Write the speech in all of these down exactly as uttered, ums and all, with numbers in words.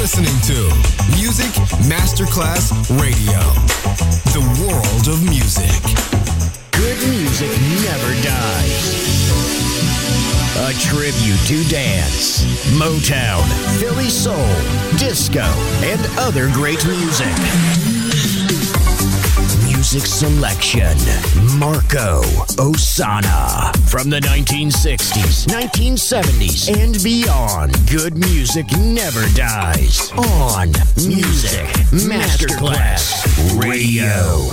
listening to Music Masterclass Radio, the world of music. Good music never dies. A tribute to dance, Motown, Philly soul, disco, and other great music. Music selection, Marco Ossanna. From the nineteen sixties, nineteen seventies, and beyond, good music never dies. On Music Masterclass Radio.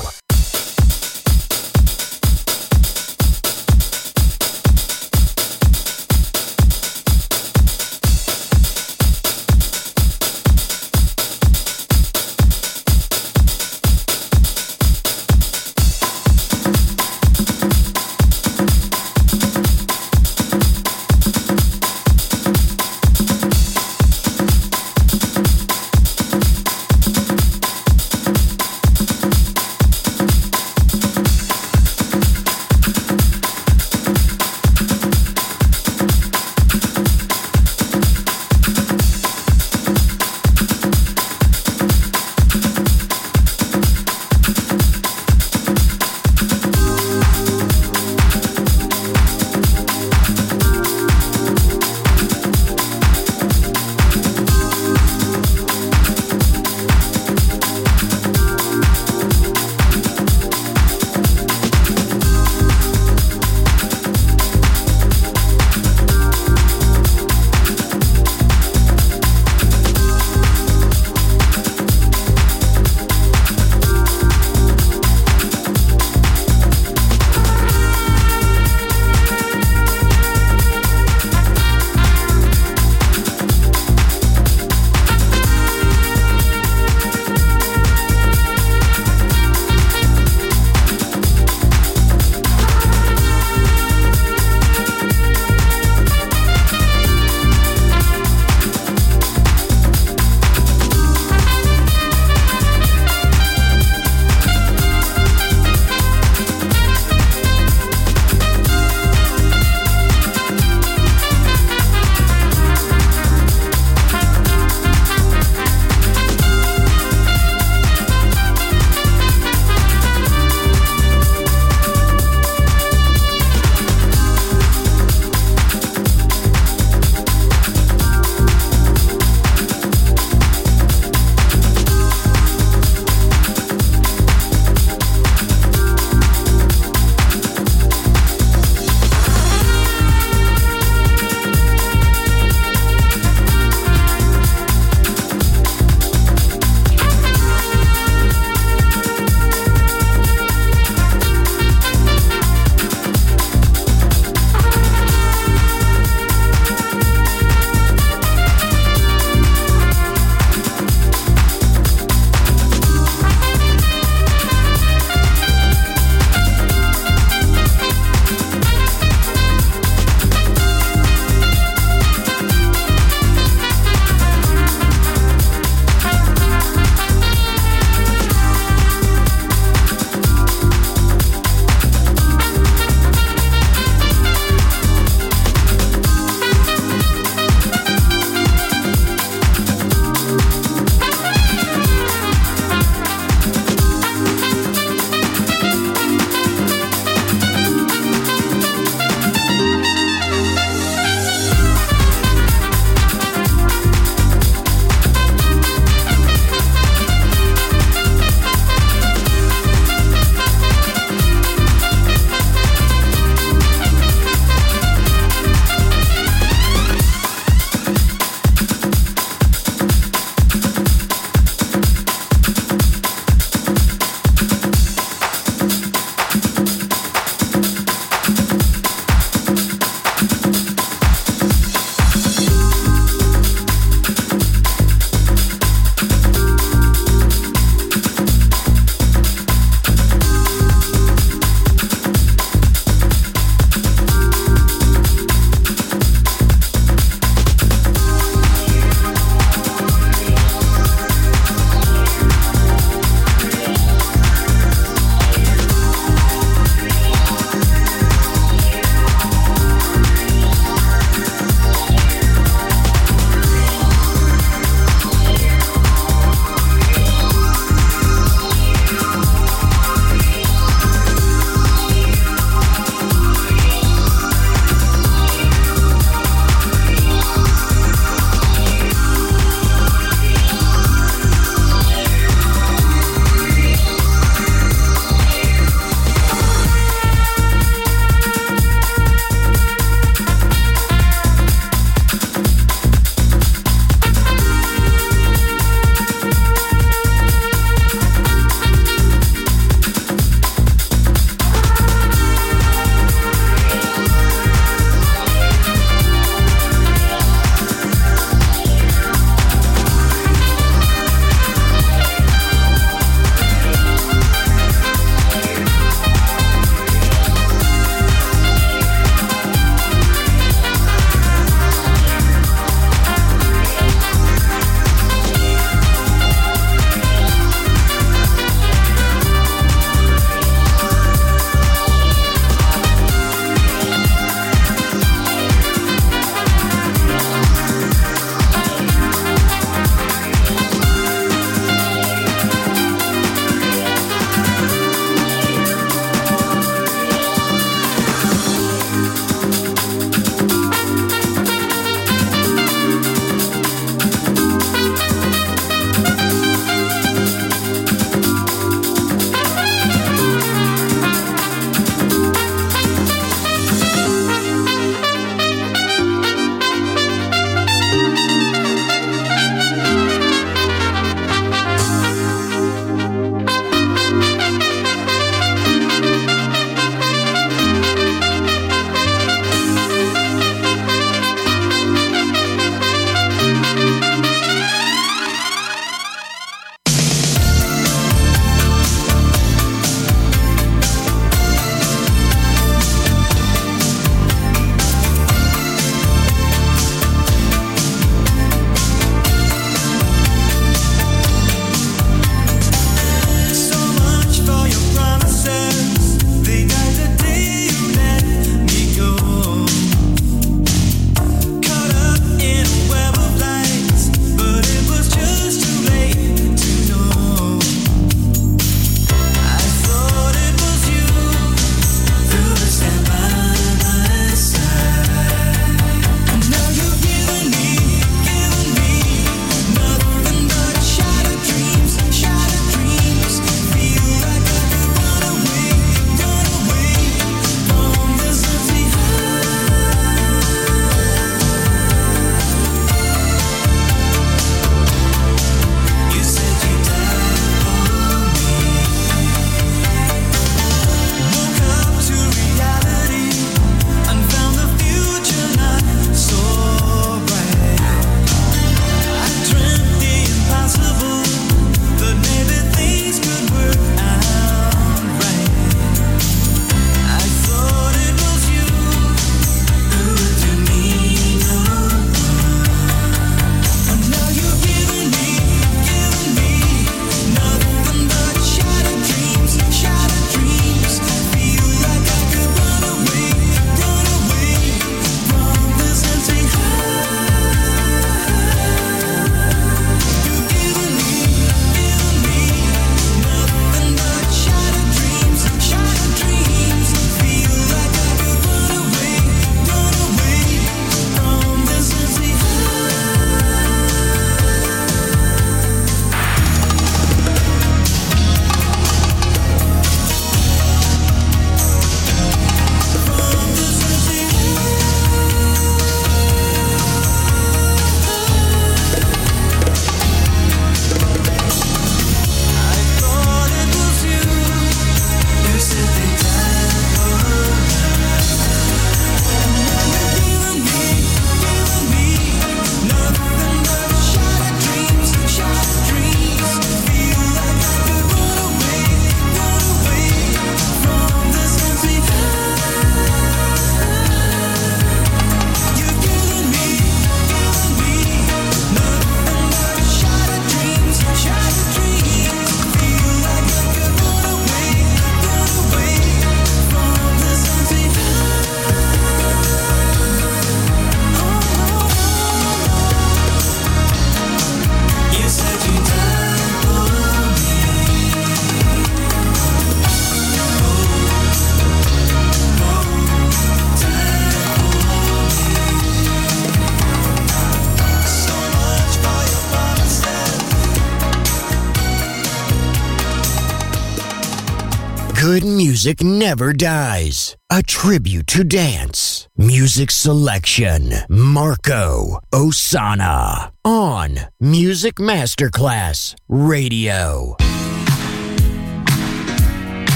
Good music never dies. A tribute to dance. Music selection. Marco Ossanna. On Music Masterclass Radio.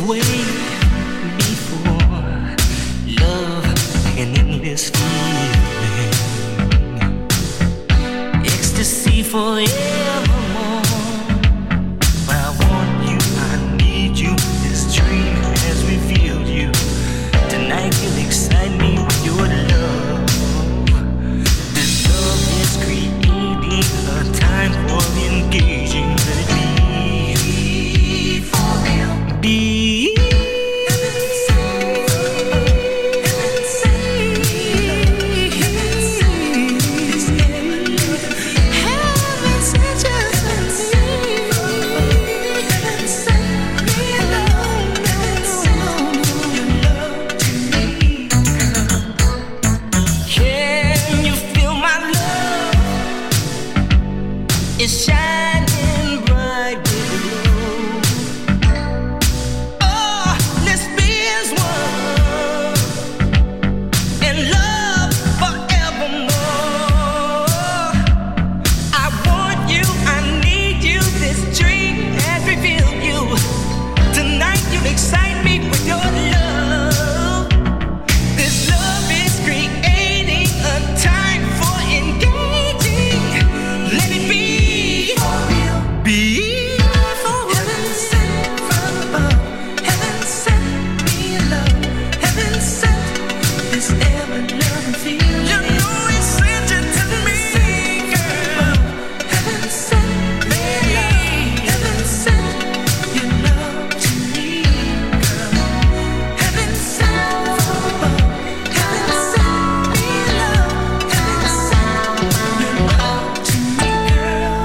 way before. Love, an endless feeling, ecstasy forevermore. I want you, I need you. This dream has revealed you. Tonight you'll excite me with your love. This love is creating a time for engaging. Let it be for real. Be it's shining bright with glow. Oh, let's be as one in love forevermore. I want you, I need you. This dream has revealed you. Tonight you excite me with your love. This love is creating a time for engaging. Let it be. Be for heaven sent from above. Heaven sent me love. Heaven sent this ever loving feeling. You know he sent it to me, girl. Heaven sent me love. Heaven sent your love to me, girl. Heaven sent from above. Heaven sent me love. Heaven sent your love to me, girl.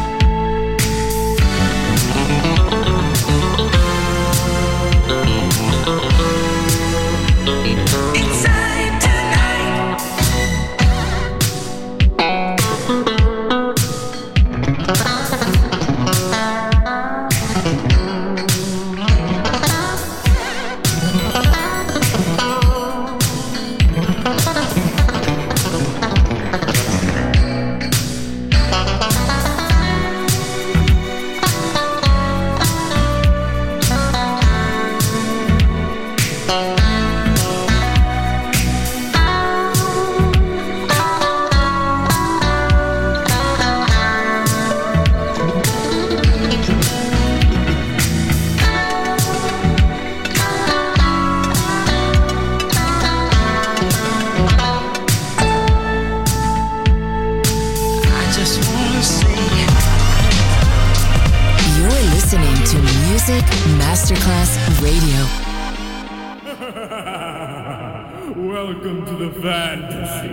Inside tonight. I just wanna say You're listening to Music Masterclass Radio. Welcome to the fantasy.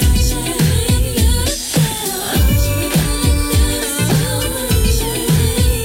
So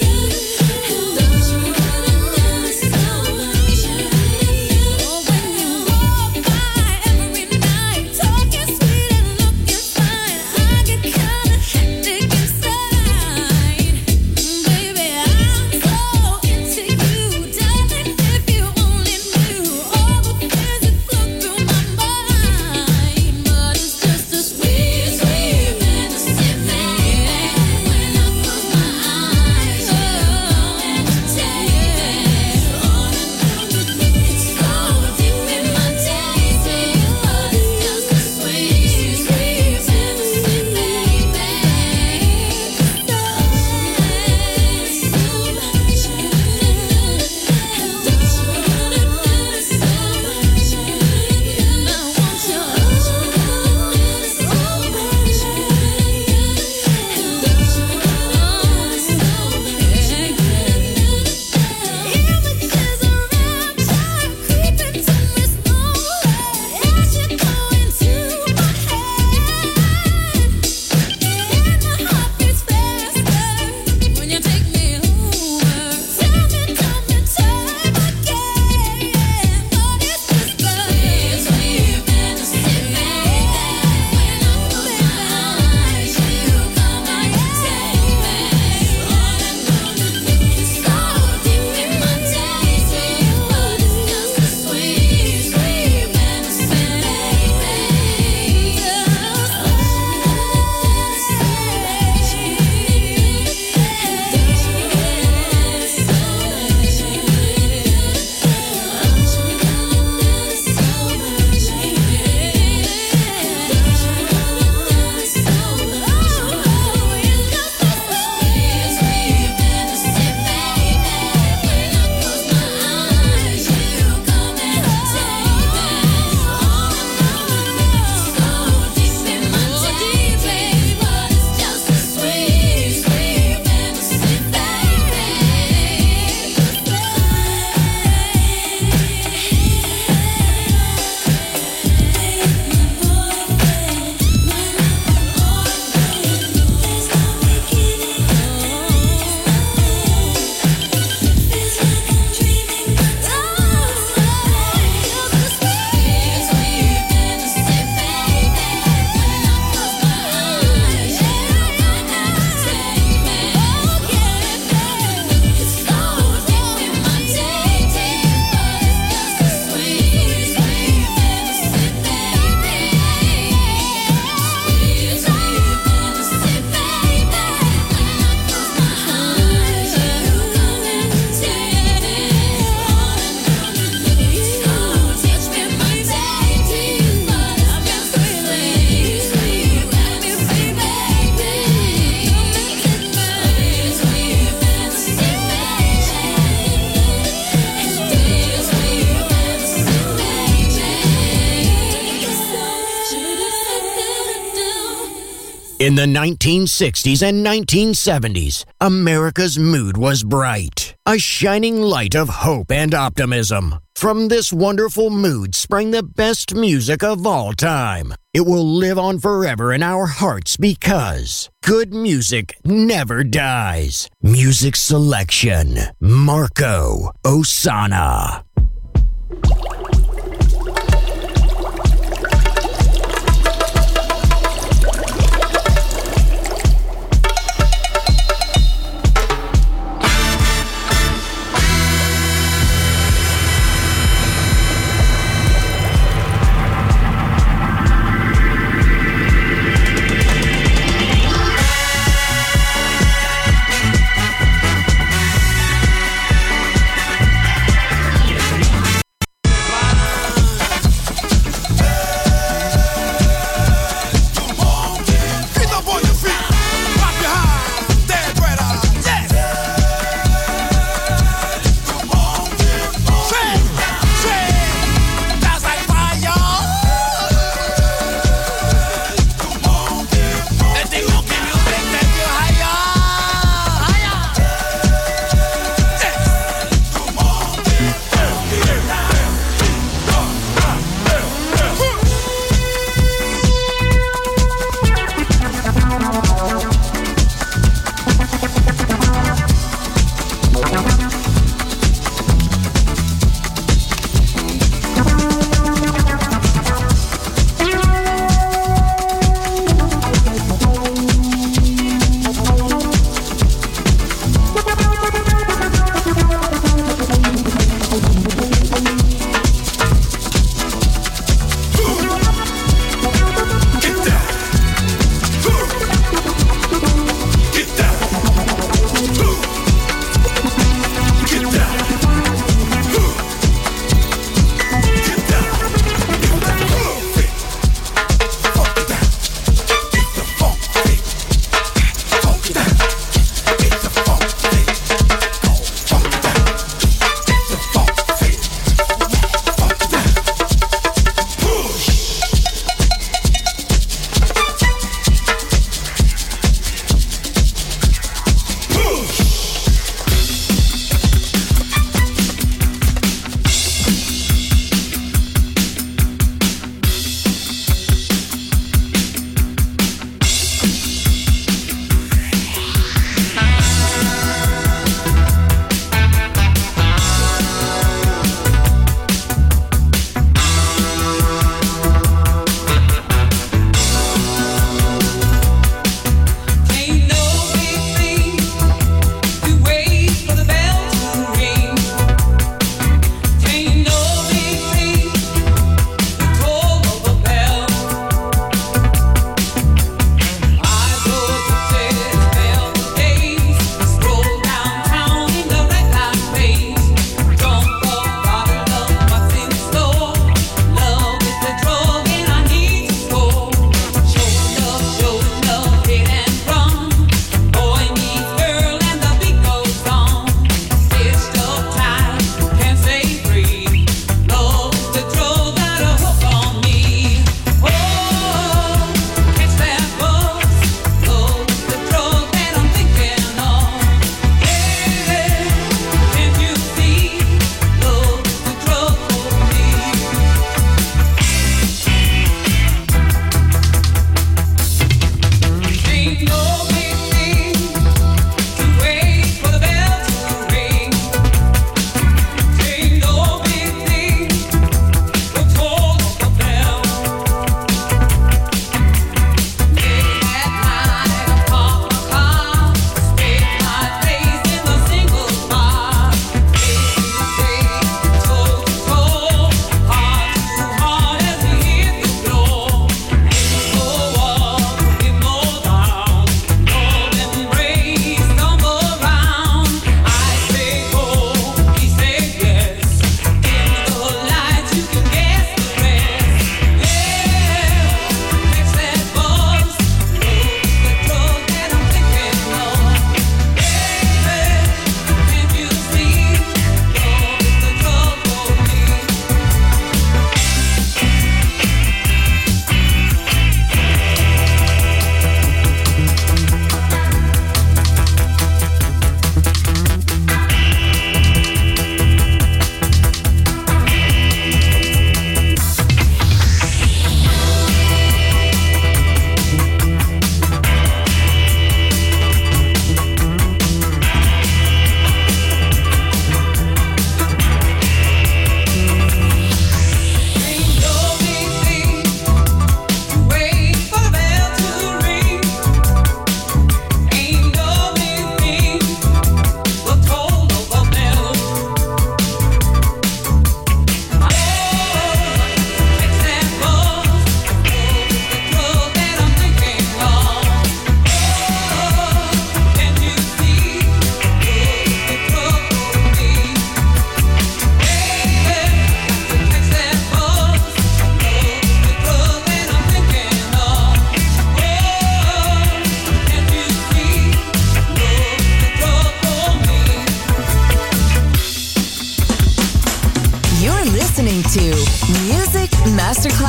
In the nineteen sixties and nineteen seventies, America's mood was bright, a shining light of hope and optimism. From this wonderful mood sprang the best music of all time. It will live on forever in our hearts because good music never dies. Music selection, Marco Ossanna.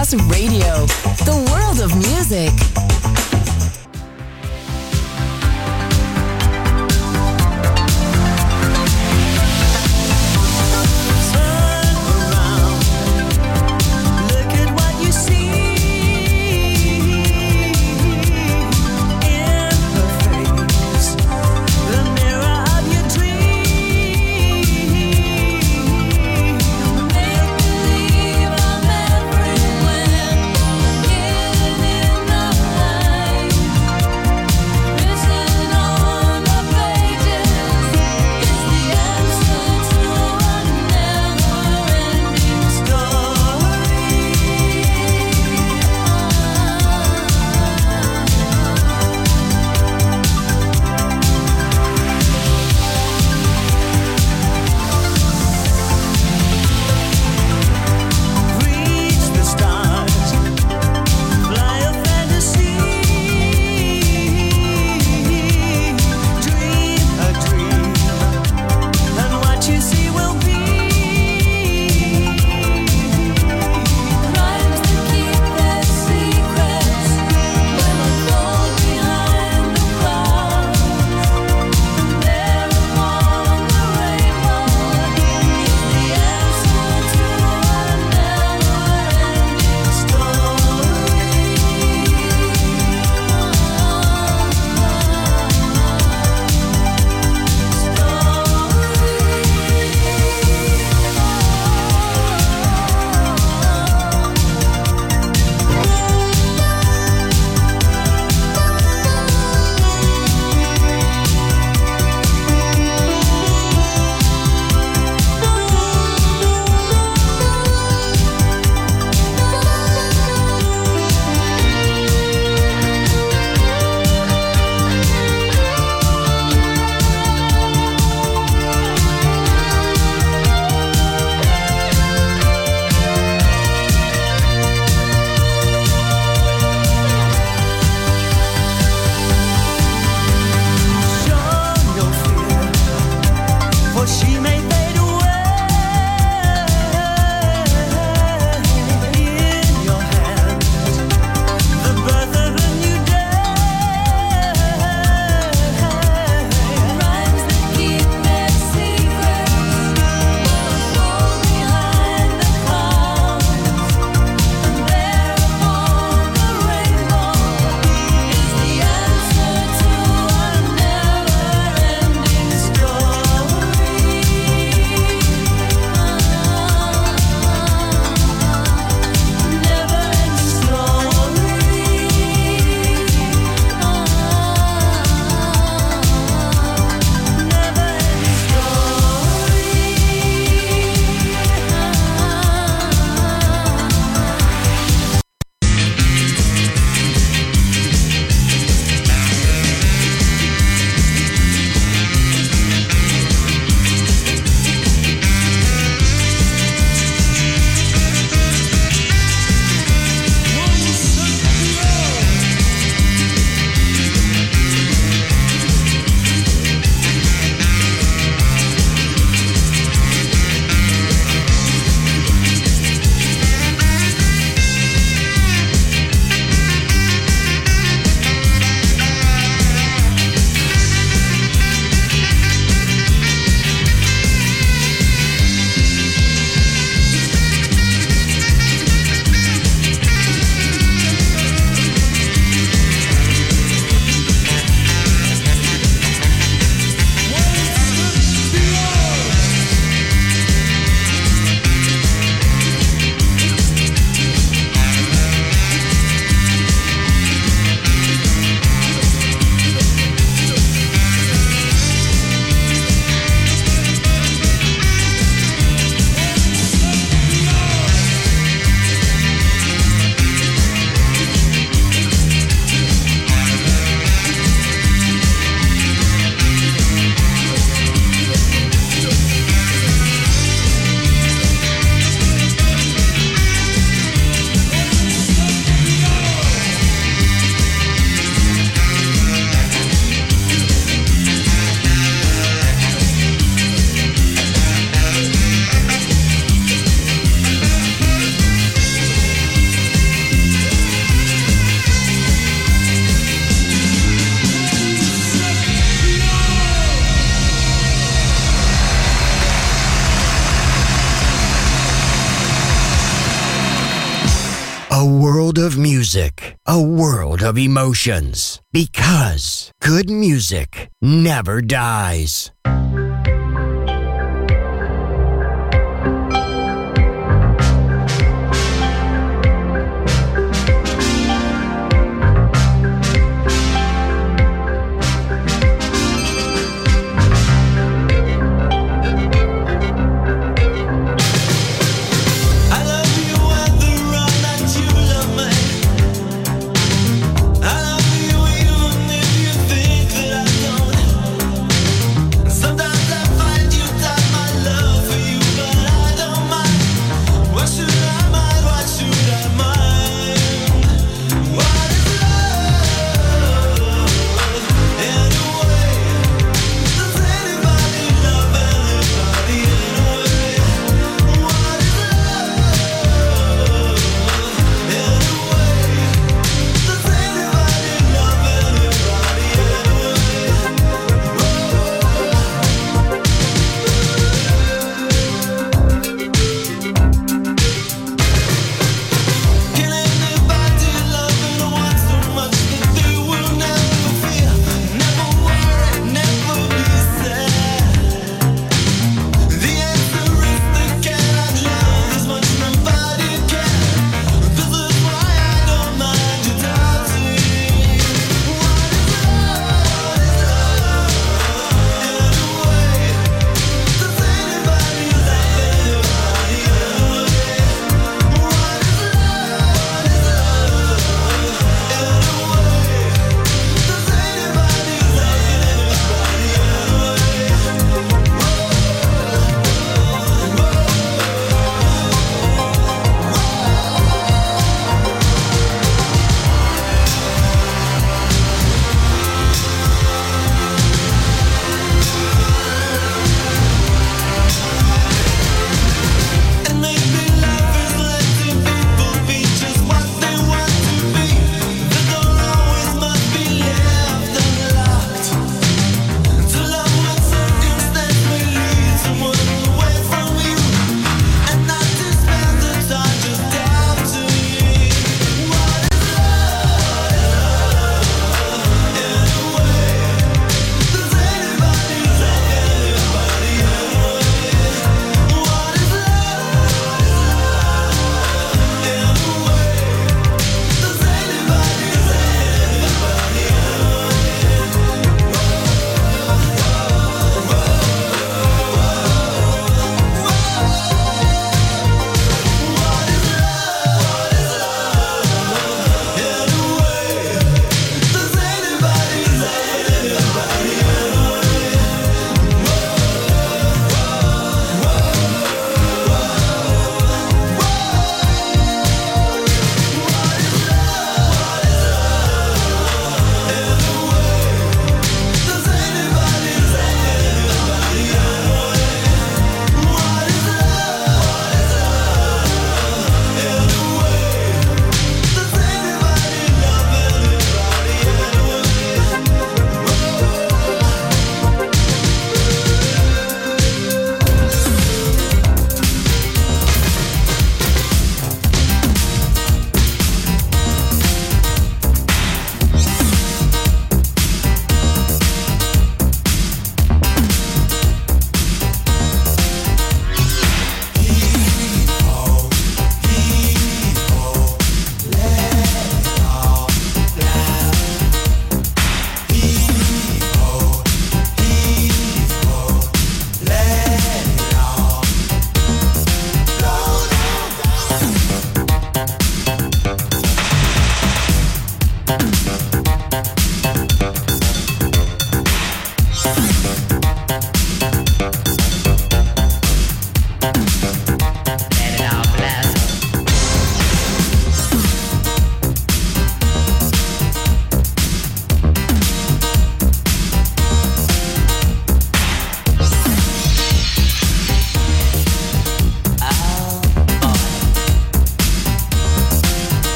Masterclass Radio, the world of music. Believe I'm everywhere, getting in the light. of music, a world of emotions. Because good music never dies. I love you even if you think that I don't.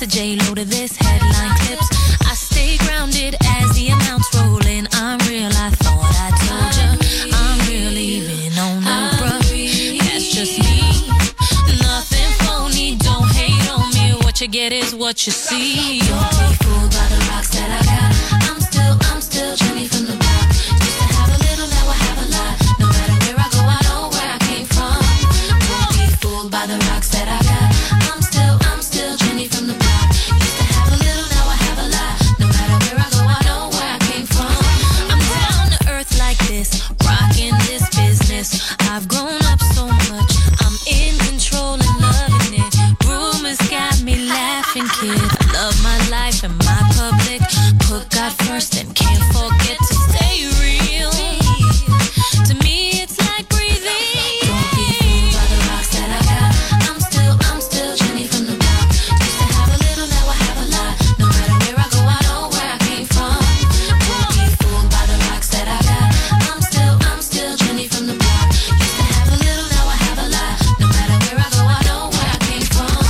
Mister J-Lo to this headline clips. I stay grounded as the amounts roll in. I'm real, I thought I told ya. I'm real even on no bruh. That's just me. Nothing phony, don't hate on me. What you get is what you see. Don't be fooled by the rocks that I got. I'm still, I'm still Jenny from the block. Used to have a little, now I have a lot. No matter where I go, I know where I came from. Don't be fooled by the rocks that I got. I'm still, I'm still Jenny from the block. Used to have a little, now I have a lot. No matter where I go, I know where I came from. I'm down to earth like this, rocking this business. I've grown up so much, I'm in control and loving it. Rumors got me laughing, kid. I love my life and my public. Put God first and can't forget to stay real. To me, it's like breathing. Don't be fooled by the rocks that I got. I'm still, I'm still Jenny from the block. Used to have a little, now I have a lot. No matter where I go, I know where I came from. Don't be fooled by the rocks that I got. I'm still, I'm still Jenny from the block. Used to have a little, now I have a lot. No matter where I go, I know where I came from.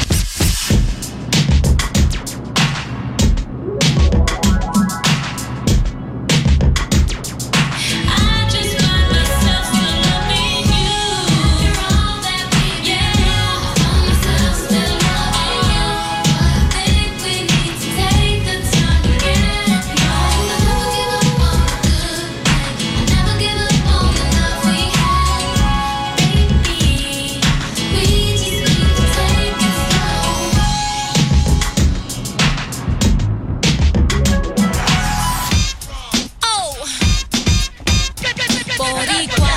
I just find myself still loving you. You're all that we get. I find myself still loving you. I think we need to take the time again. No, I never give up on the good. I never give up on the love we had. Baby, we just need to take it slow. Oh, Boricua.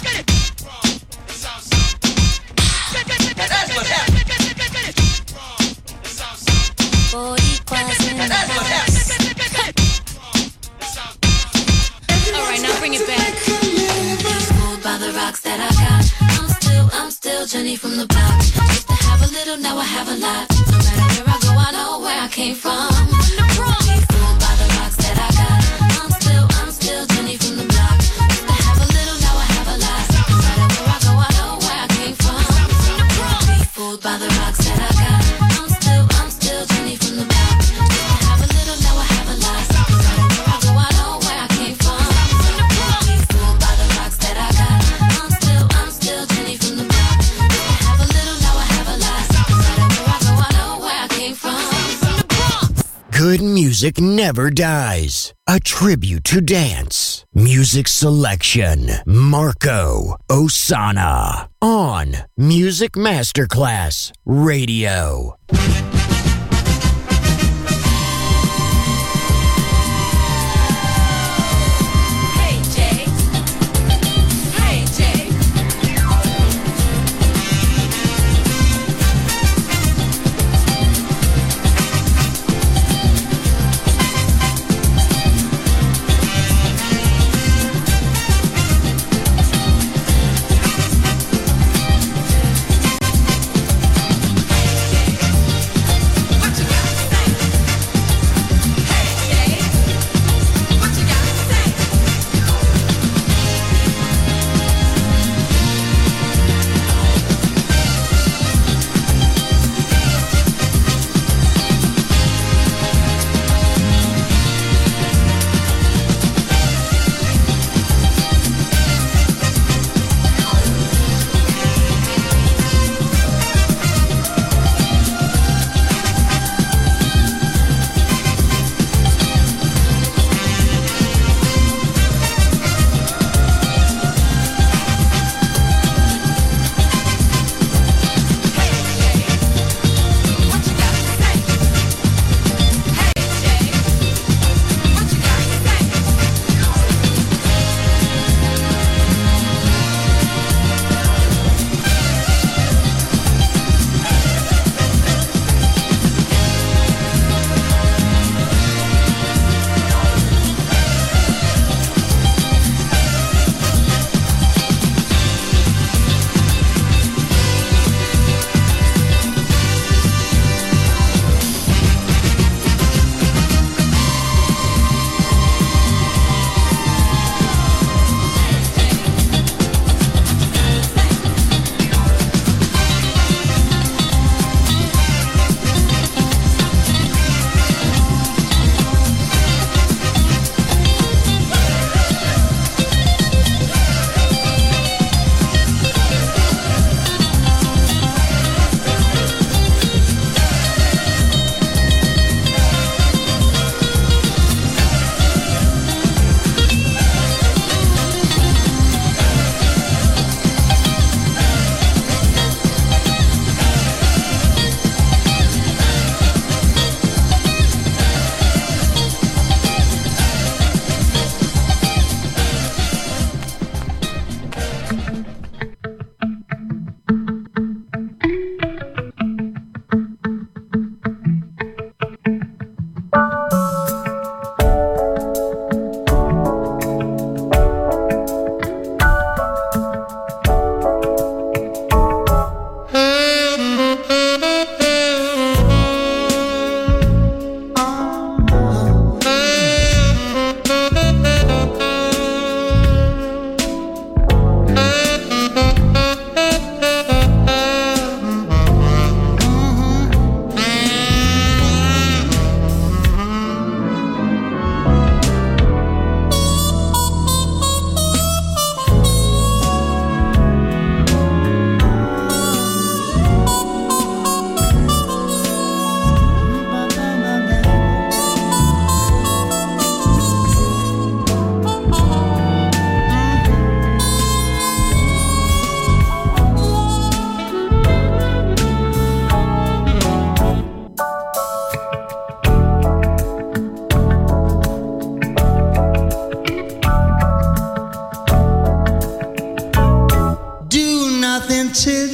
Boricuas in the house. All right, now bring it back. Fooled by the rocks that I got. I'm still, I'm still Jenny from the block. Used to have a little, now I have a lot. No matter where I go, I know where I came from. Don't be fooled by the rocks that I got. I'm still, I'm still Jenny from the block. Used to have a little, now I have a lot. No matter where I go, I know where I came from. Don't be fooled by the rocks that I got. I'm still, I'm still Jenny from the block. Used to have a little, now I have a lot. No matter where I go, I know where I came from. Don't be fooled by the rocks that I got. I'm still, I'm still Jenny from the block. Used to have a little, now I have a lot. No matter where I go, I know where I came from. Good music never dies. A tribute to dance. Music selection. Marco Ossanna. On Music Masterclass Radio. Hey Jay, hey Jay.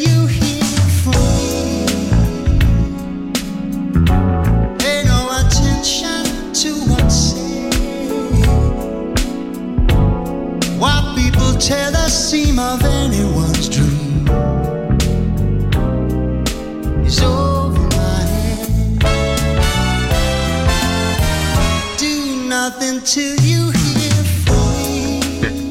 you hear from me. Pay no attention to what's said. What people tell the seam of anyone's dream is over my head. Do nothing till you hear from me.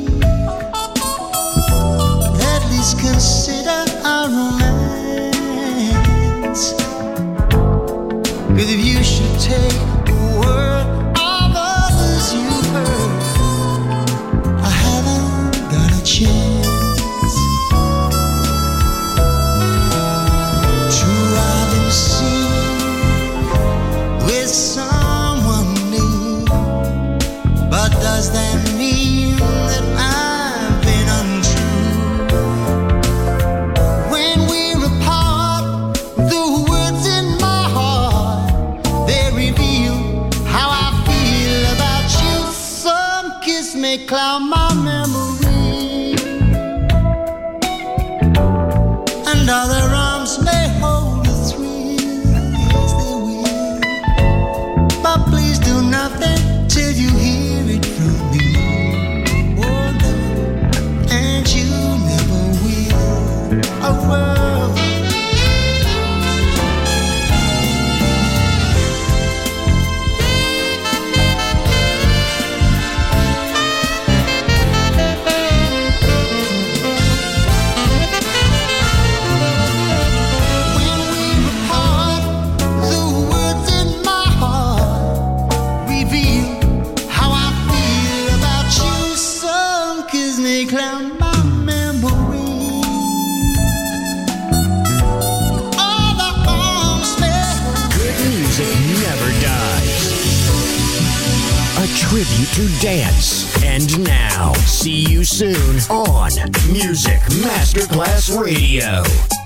At least consider our romance. 'Cause if you should take the word of others you heard, I haven't got a chance. True, I've been seen with someone new, but does that mean that I've been untrue? When we're apart, the words in my heart, they reveal how I feel about you. Some kiss may cloud my memory, and other arms may hold a thrill. Yes, they will. But please do nothing till you hear it from me. Oh no, and you never will. Oh well. When we're apart, the words in my heart reveal how I feel about you. Some kiss may cloud my memory. All the arms may Good music never dies. A tribute to dance. And now, see you soon on Music Masterclass Radio.